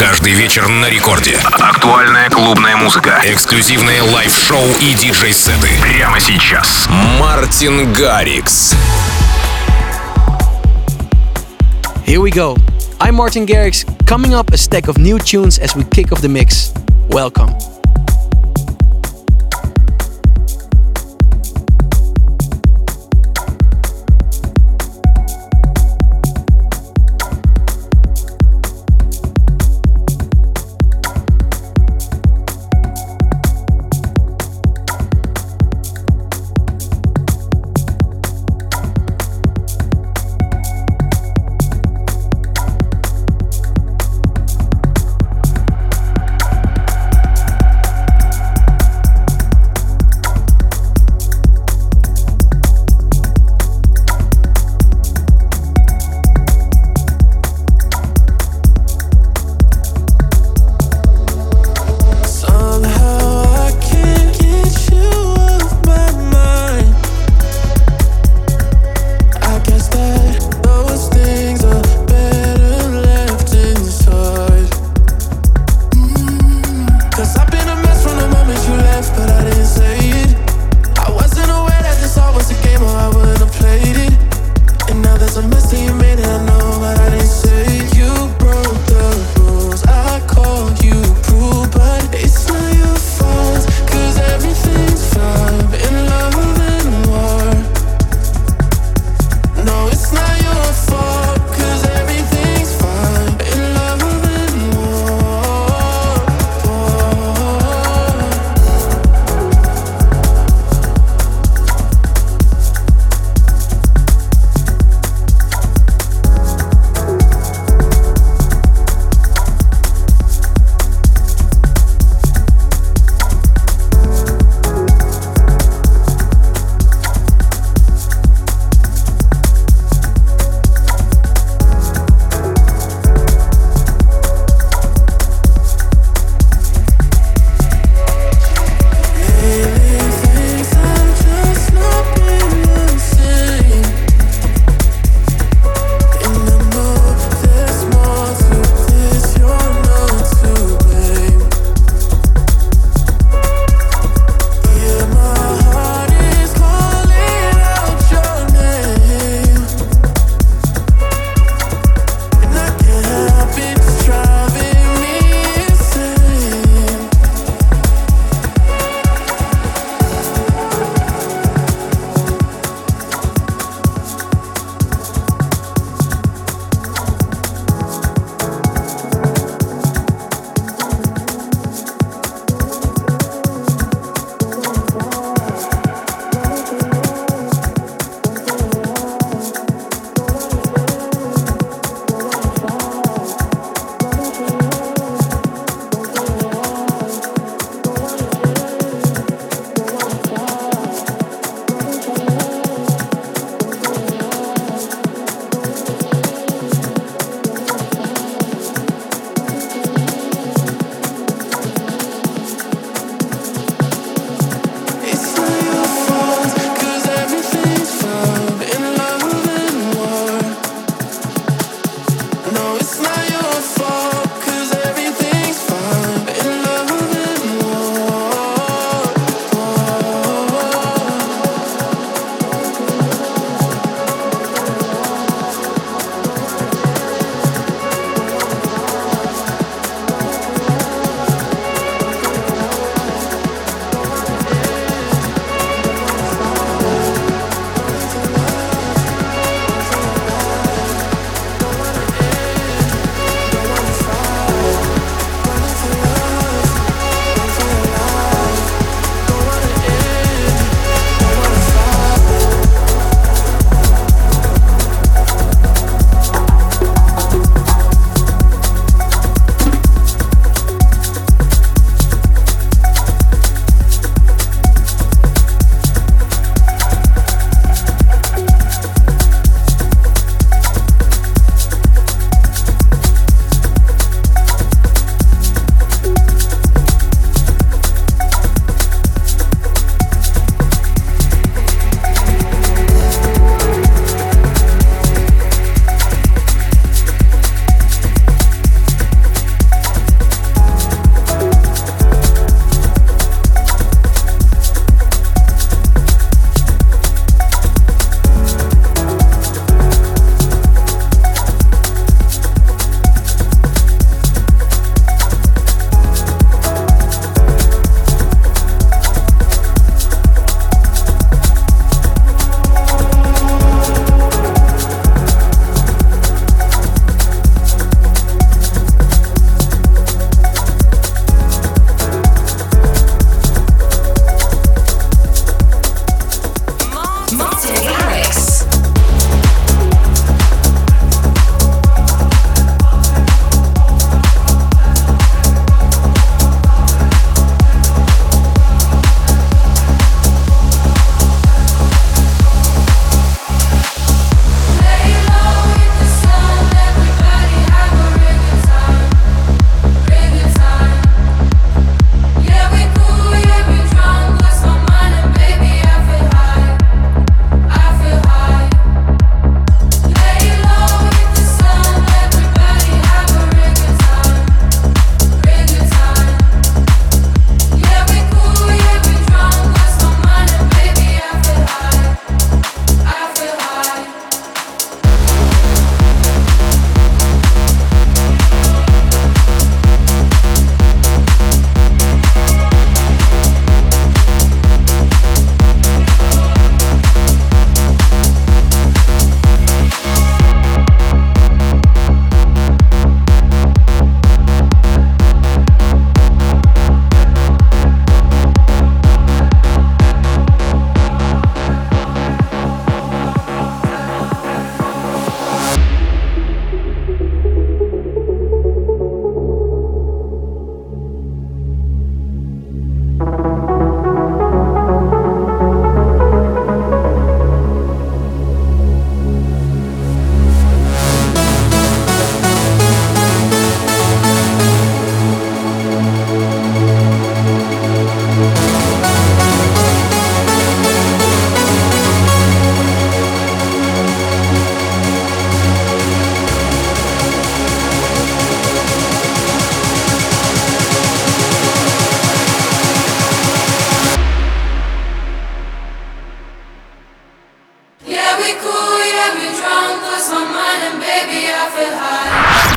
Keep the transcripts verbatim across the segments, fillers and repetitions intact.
Каждый вечер на рекорде. Актуальная клубная музыка. Эксклюзивные лайв-шоу и диджей-сеты. Прямо сейчас. Мартин Гаррикс. Here we go. I'm Martin Garrix. Coming up, a stack of new tunes as we kick off the mix. Welcome.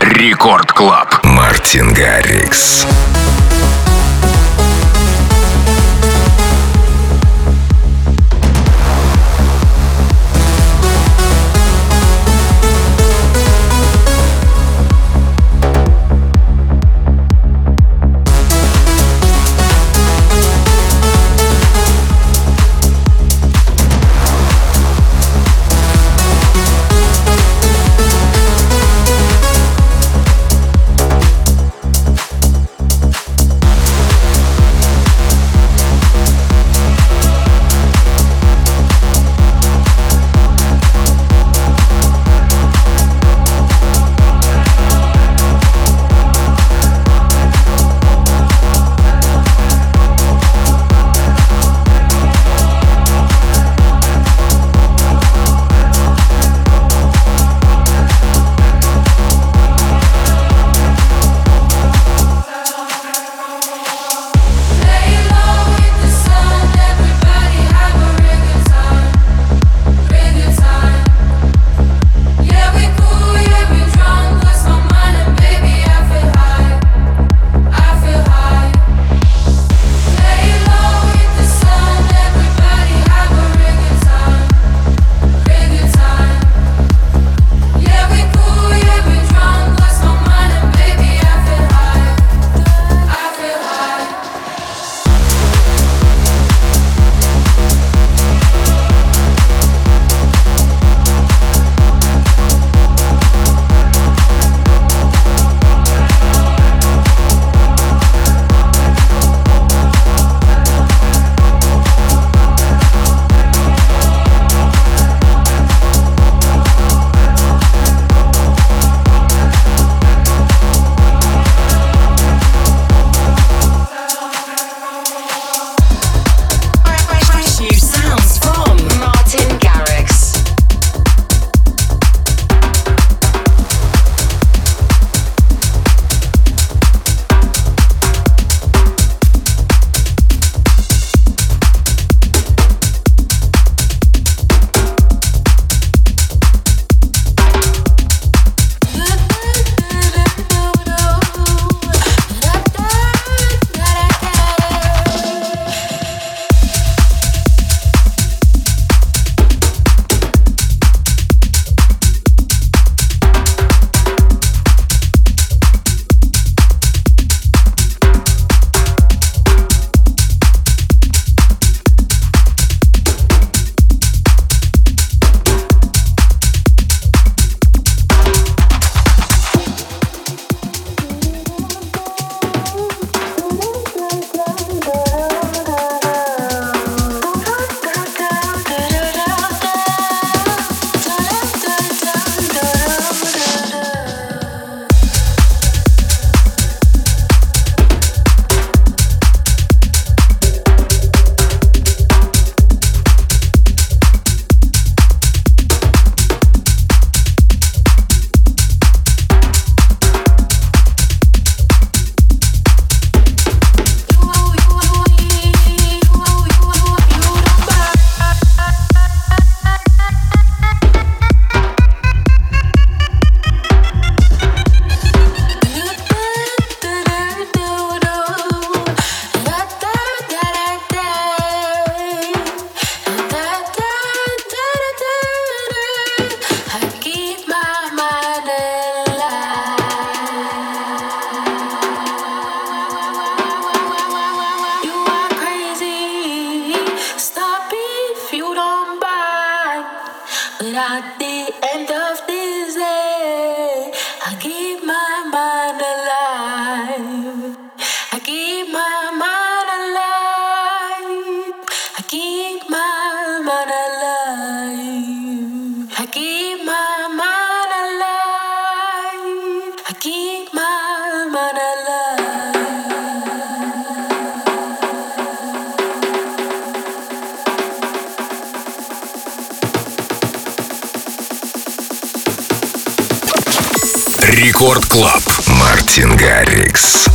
Рекорд Клаб. Мартин Гаррикс. Рекорд Клаб. Мартин Гаррикс.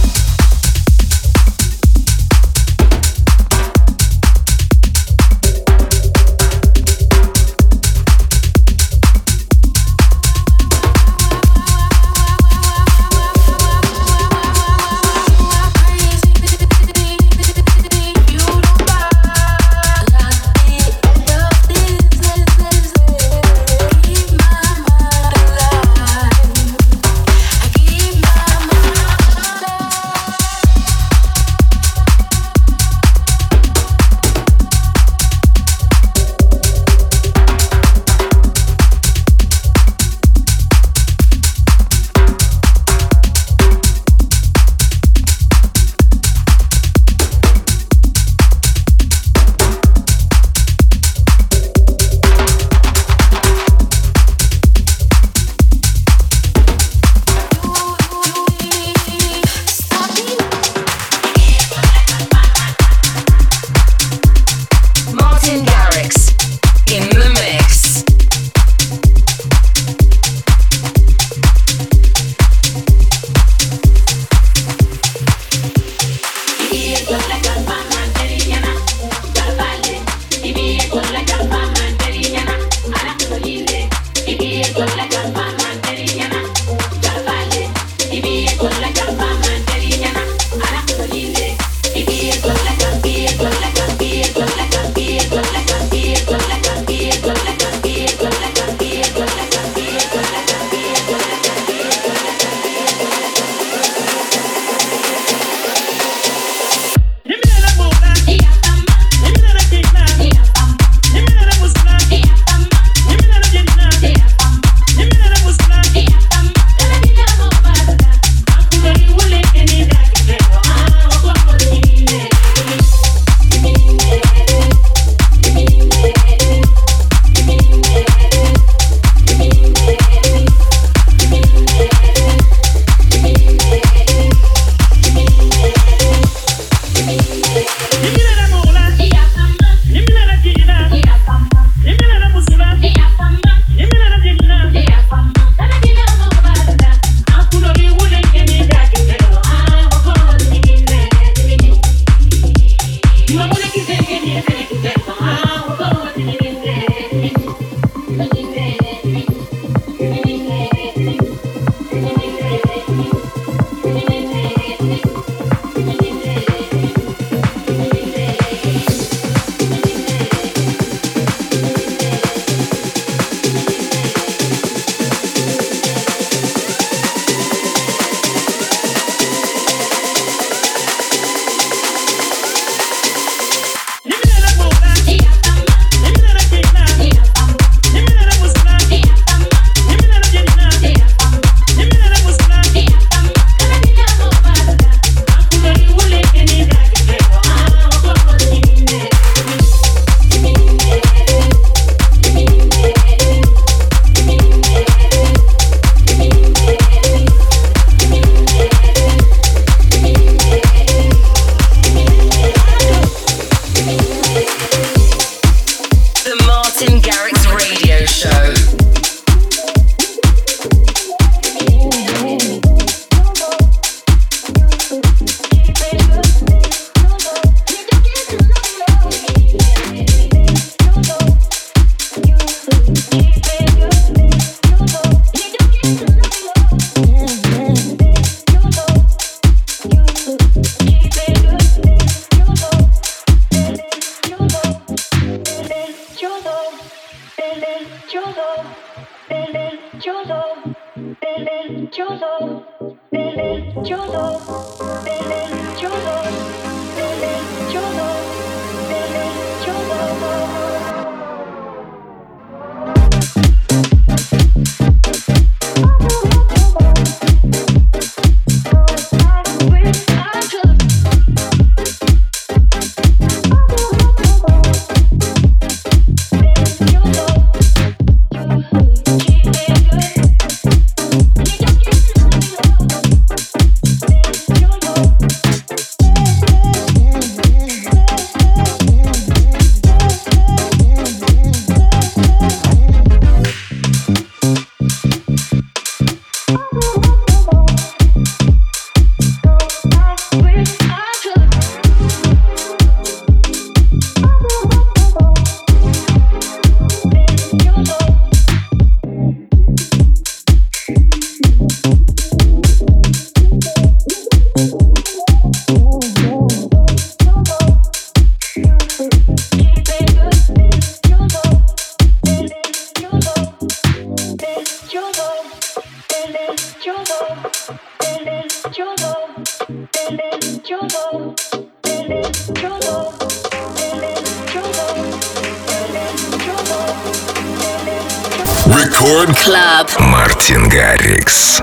Record Club. Мартин Гаррикс.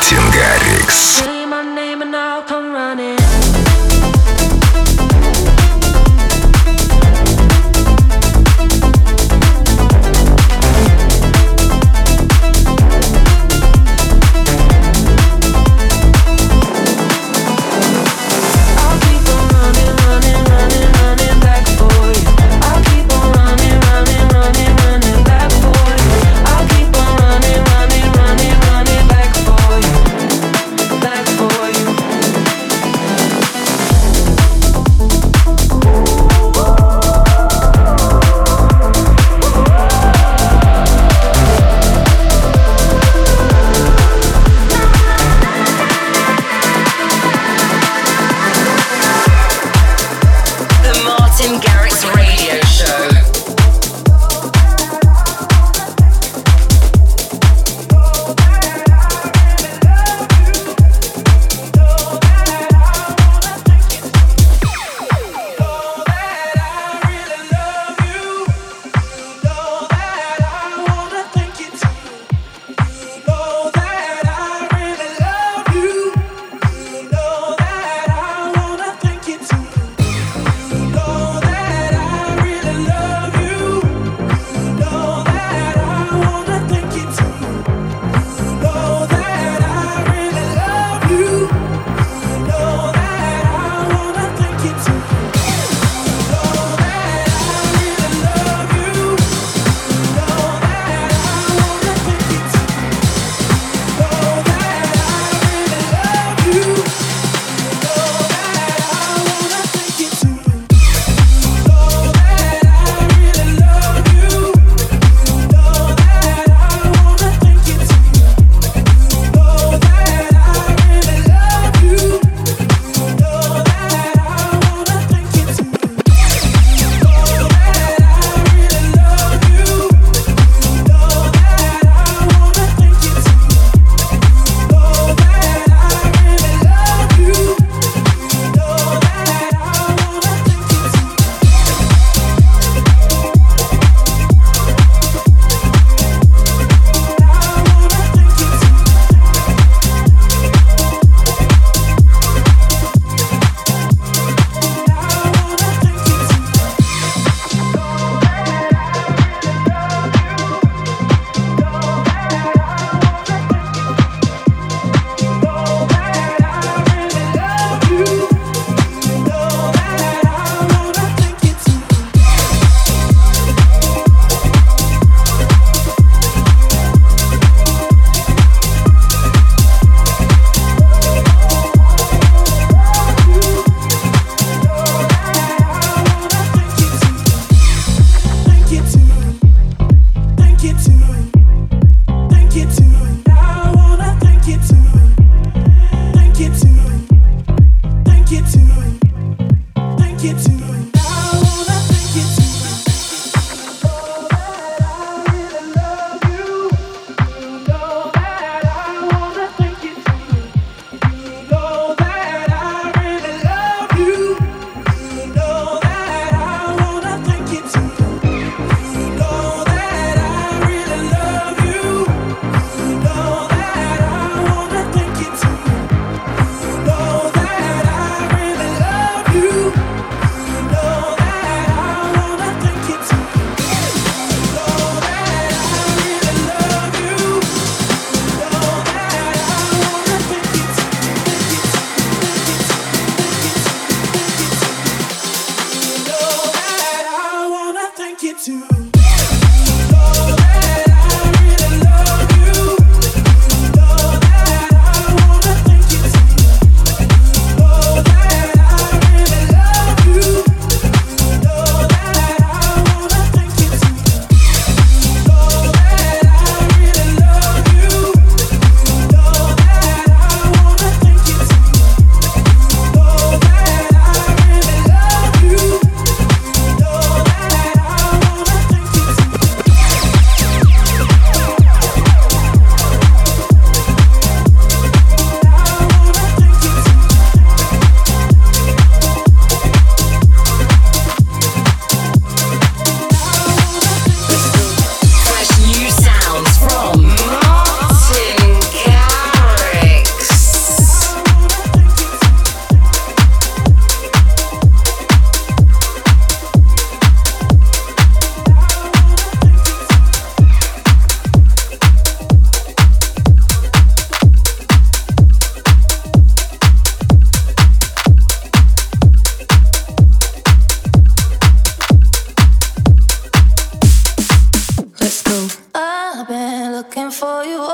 Мартин Гаррикс. Say my name and I'll come running. I'll keep on running, running, running, running back for you. I'll keep on running, running, running, running back for you. I'll keep on running, running, running, running back for you. Back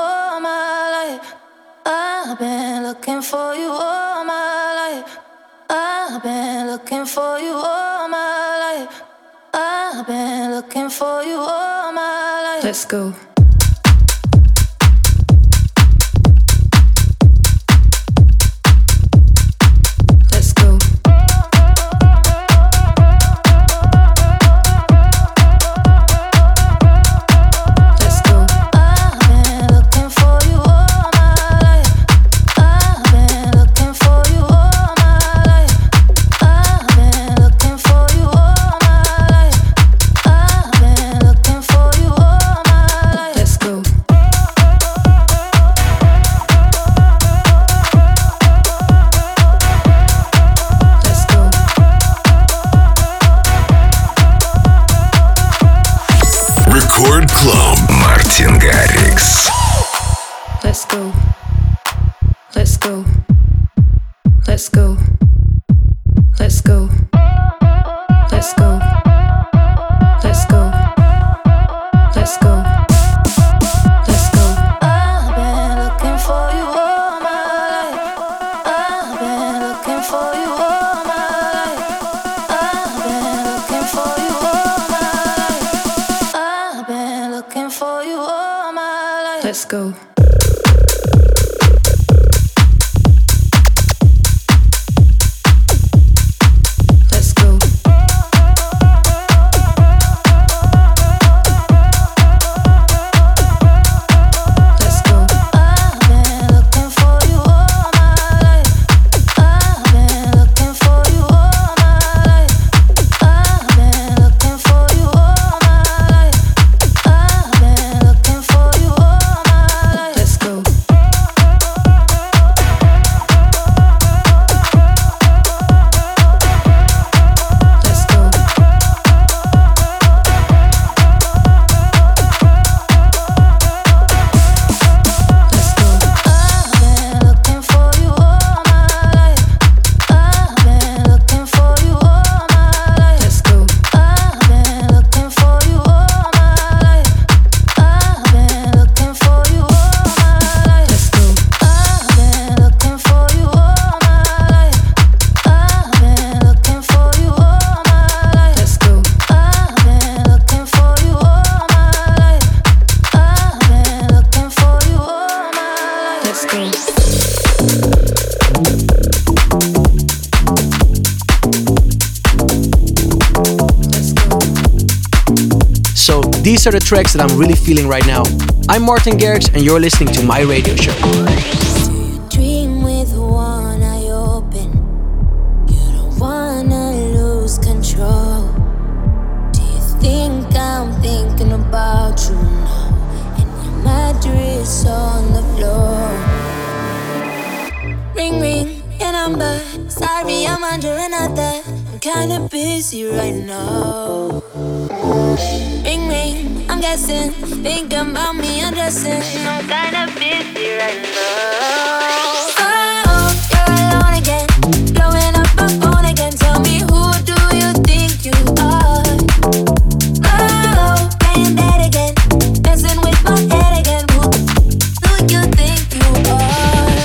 all my life. I've been looking for you all my life. I've been looking for you all my life. I've been looking for you all my life. Let's go. Рекорд Клаб. Мартин Гаррикс. Let's go. Let's go. Let's go. Let's go. Let's go. Let's go. Let's go. Let's go. I've been looking for you all my life. I've been looking for you all my life. I've been looking for you all my life. I've been looking for you all my life. Let's go. These are the tracks that I'm really feeling right now. I'm Martin Garrix and you're listening to my radio show. Do you dream with one eye open? You don't wanna lose control. Do you think I'm thinking about you now? And your mattress on the floor. Ring ring, your number. Sorry, I'm under another. I'm kinda busy right now. Ring ring, I'm guessing, thinking about me undressing. I'm kinda busy right now. Oh, you're alone again, blowing up my phone again. Tell me, who do you think you are? Oh, playing dead again, messing with my head again. Who do you think you are?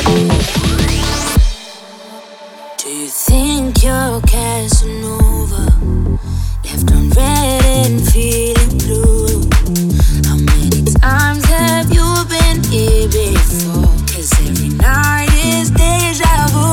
Do you think you're Casanova? Left on red and feeling blue. How many times have you been here before? 'Cause every night is deja vu.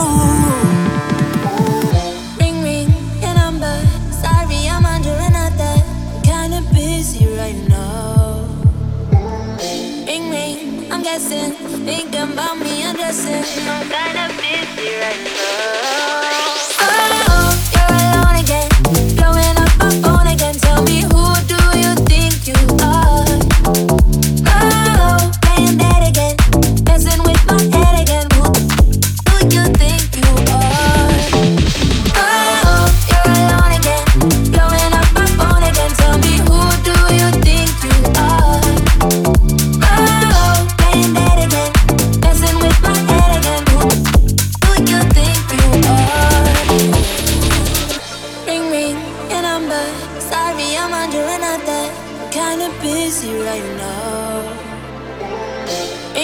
Ring ring, your number. Sorry, I'm under another. I'm kinda busy right now. Ring ring, I'm guessing, thinking about me undressing. I'm kinda busy right now. Oh, you're alone again, blowing up my phone again. Tell me, who do you think you are? Oh, playing dead again, messing with my head again. Who do you think you are? Oh, you're alone again, blowing up my phone again. Tell me, who do you think you are? Oh, playing dead again, messing with my head again. Who do you think you are?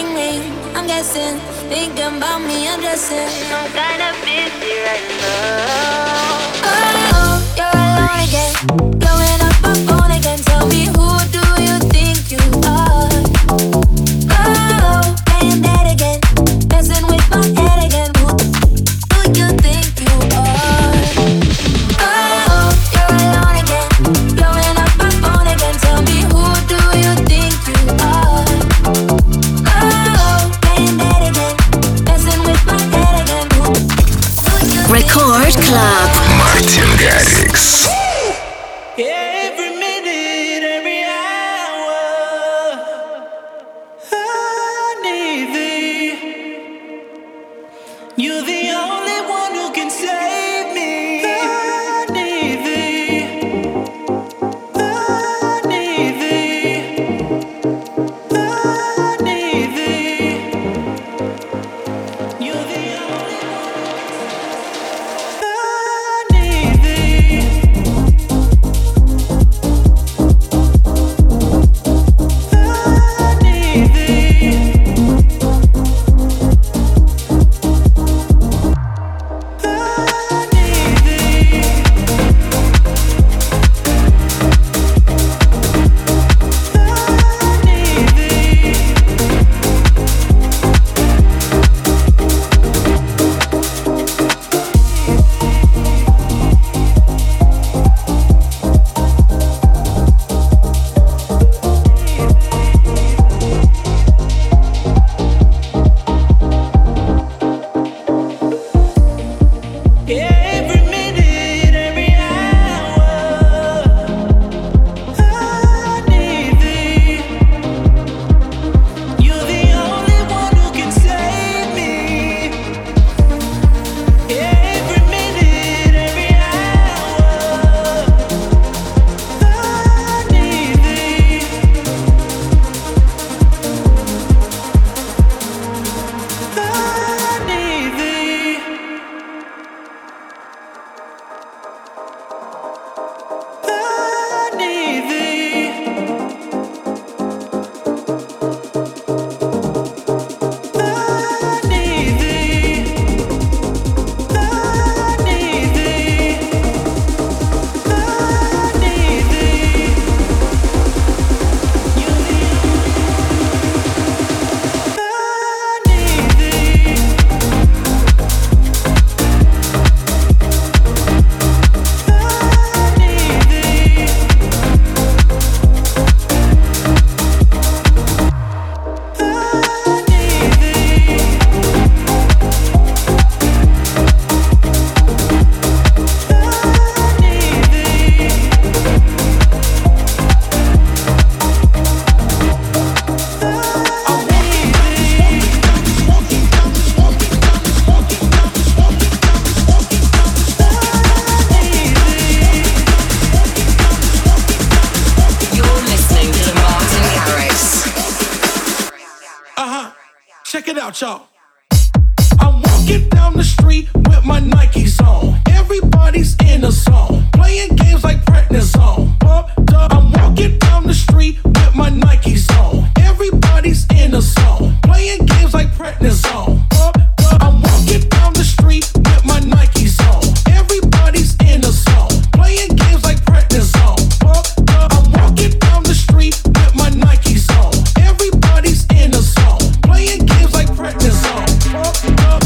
Ring ring, I'm guessing, thinking about me undressing. I'm kinda busy right now. Oh, you're alone again, blowing up my phone again. Tell me, who do you think you are? Oh, playing that again, messing with my head again. Who do you think you are? Oh, you're alone again, blowing up my phone again. Tell me, who do you think you are? Record Club. Мартин Гаррикс. Every minute, every hour, I need thee. You're the only one who can save me. I need thee. I need thee. I need thee. You're the only Y'all. I'm walking down the street with my Nikes on. Everybody's in a zone, playing games like prednisone. Pumped up. I'm walking down the street with my Nikes on. Everybody's in a zone, playing games like prednisone. Pumped up. I'm walking down the street with my Nikes on. Everybody's in a zone, playing games like prednisone. Pumped up. I'm walking down the street with my Nikes on. Everybody's in a zone, playing games like prednisone. Pumped up.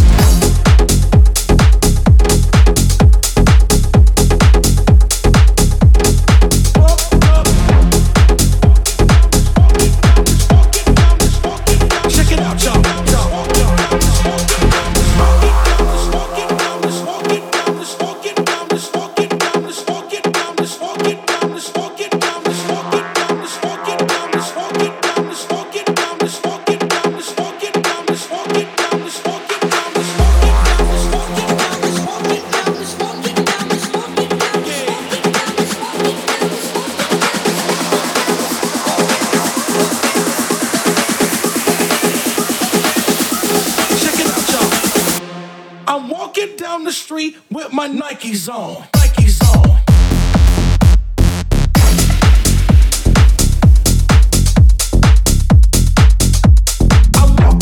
Down the street with my Nikes on. Nikes on. I'm walking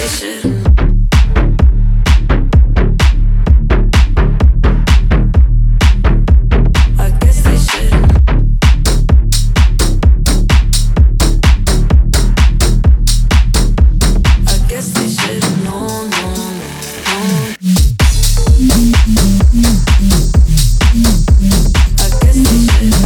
shouldn't. I guess they shouldn't. I guess they shouldn't. No, no, no. I guess they shouldn't.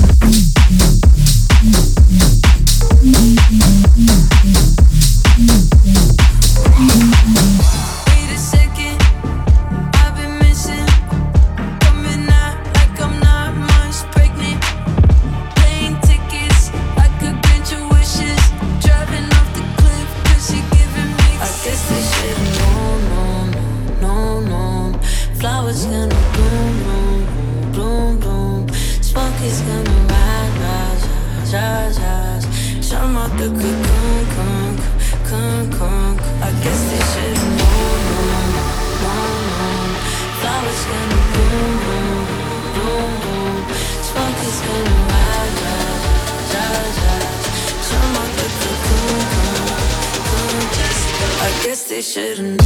Wait a second, I've been missing. Coming out like I'm not much pregnant. Plane tickets, I could grant your wishes. Driving off the cliff, cause you're giving me. I guess they should've known, no, no, no, no. Flowers gonna bloom, bloom, bloom, bloom. Smoke is gonna rise, rise, rise, rise. Some out the cocoon, cocoon, cocoon, cocoon. I guess they should've known, no, no, no. Flowers gonna bloom, bloom, bloom, bloom. Smoke is gonna rise, rise, rise, rise. Some out the cocoon, cocoon, cocoon. I guess they should've.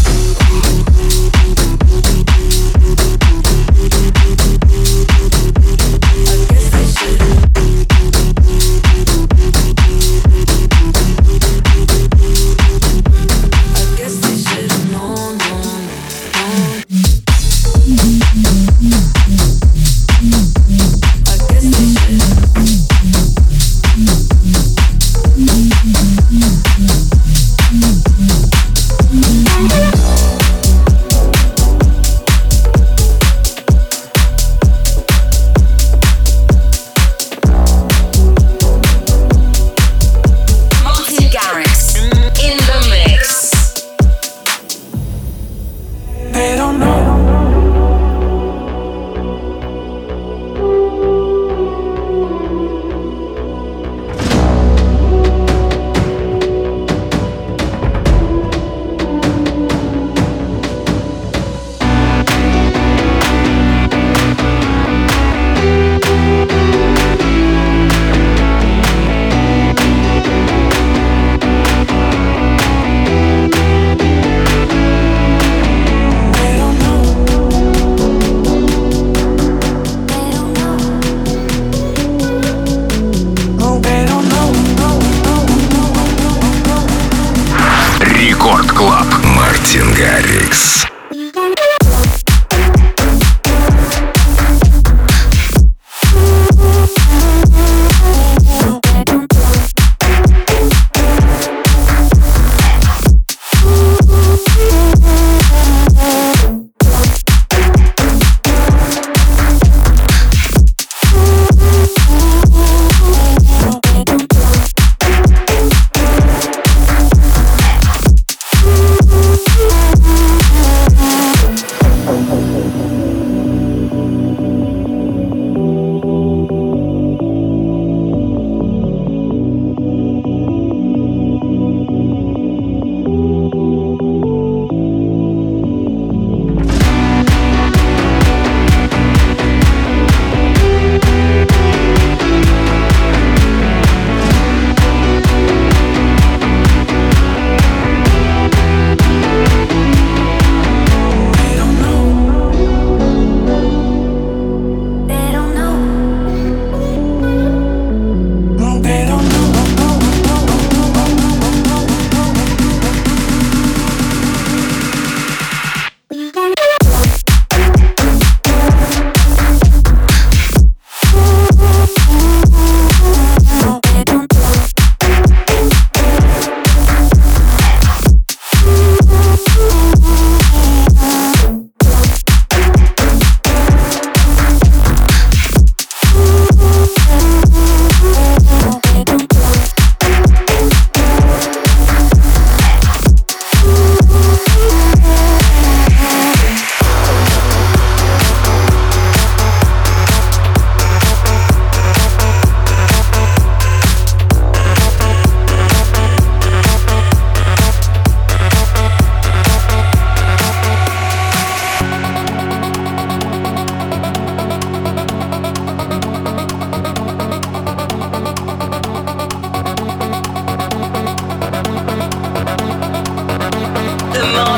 I guess they should've. I guess they should've known, known, known. I guess they should've.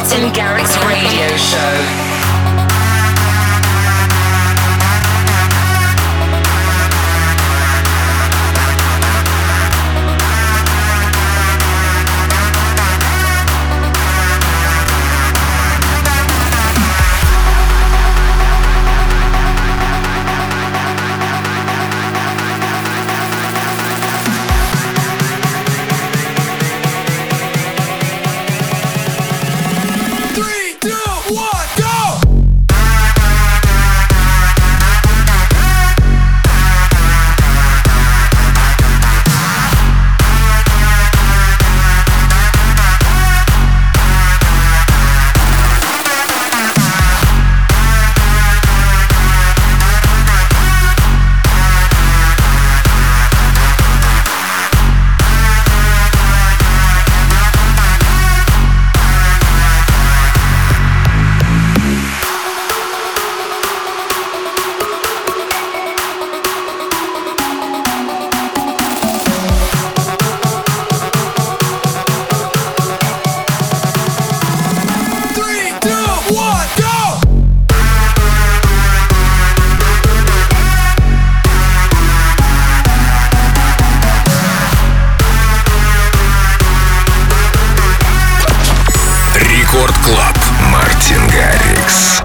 Martin Garrix Radio Show. Мартин Гаррикс.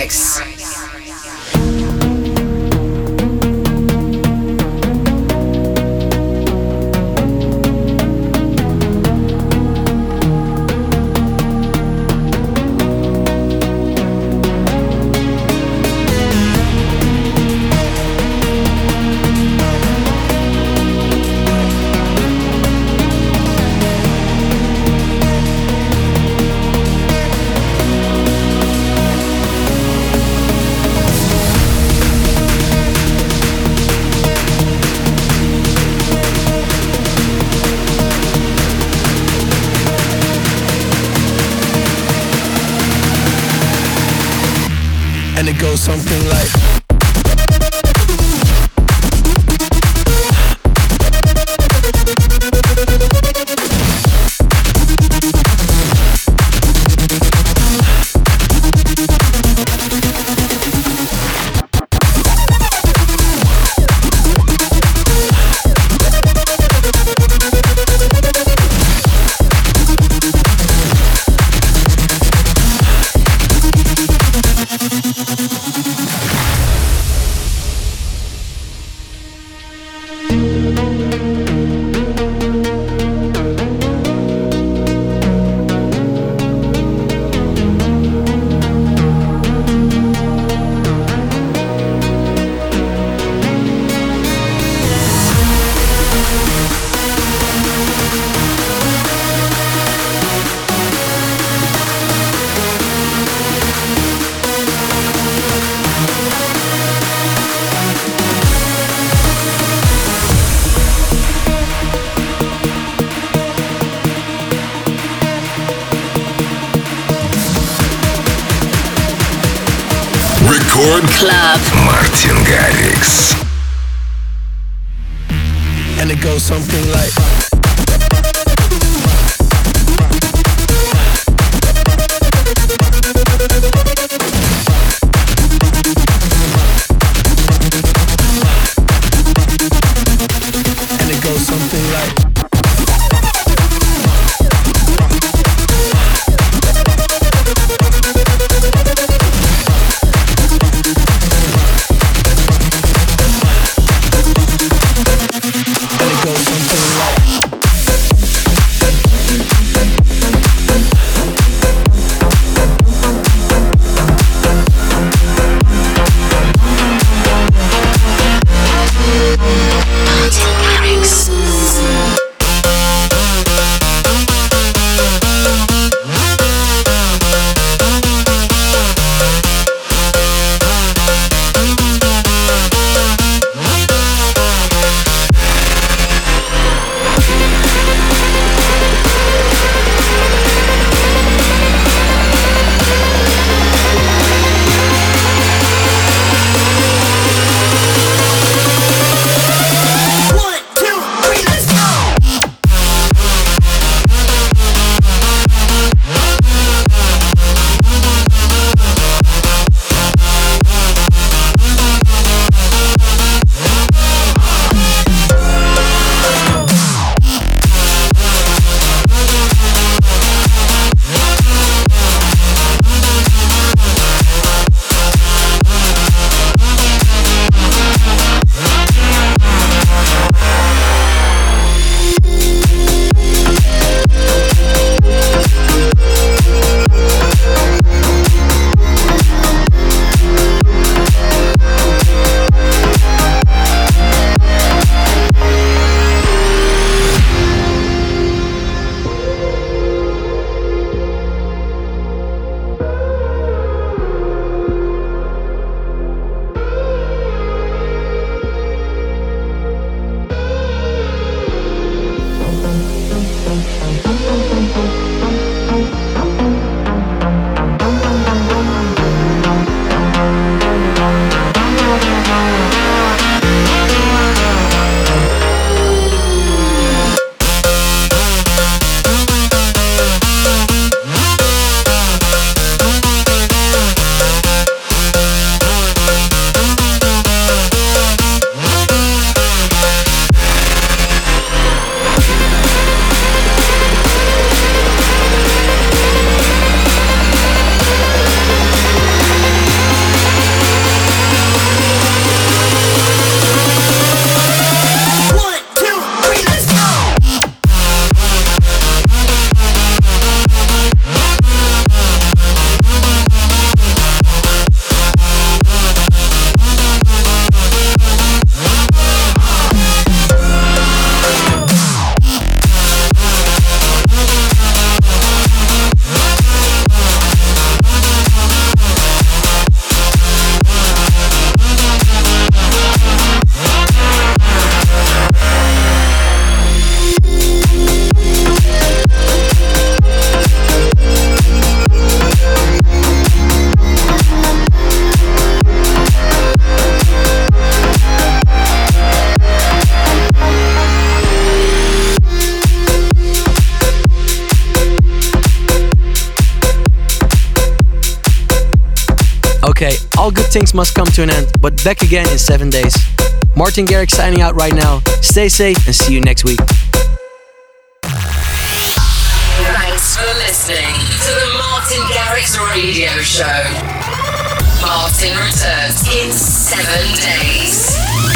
Garrix. And it goes something like Рекорд Клаб. Мартин Гаррикс. And it goes something like And it goes something like And it goes something like Okay, all good things must come to an end, but back again in seven days. Martin Garrix signing out right now. Stay safe and see you next week. Thanks for listening to the Martin Garrix Radio Show. Martin returns in seven days.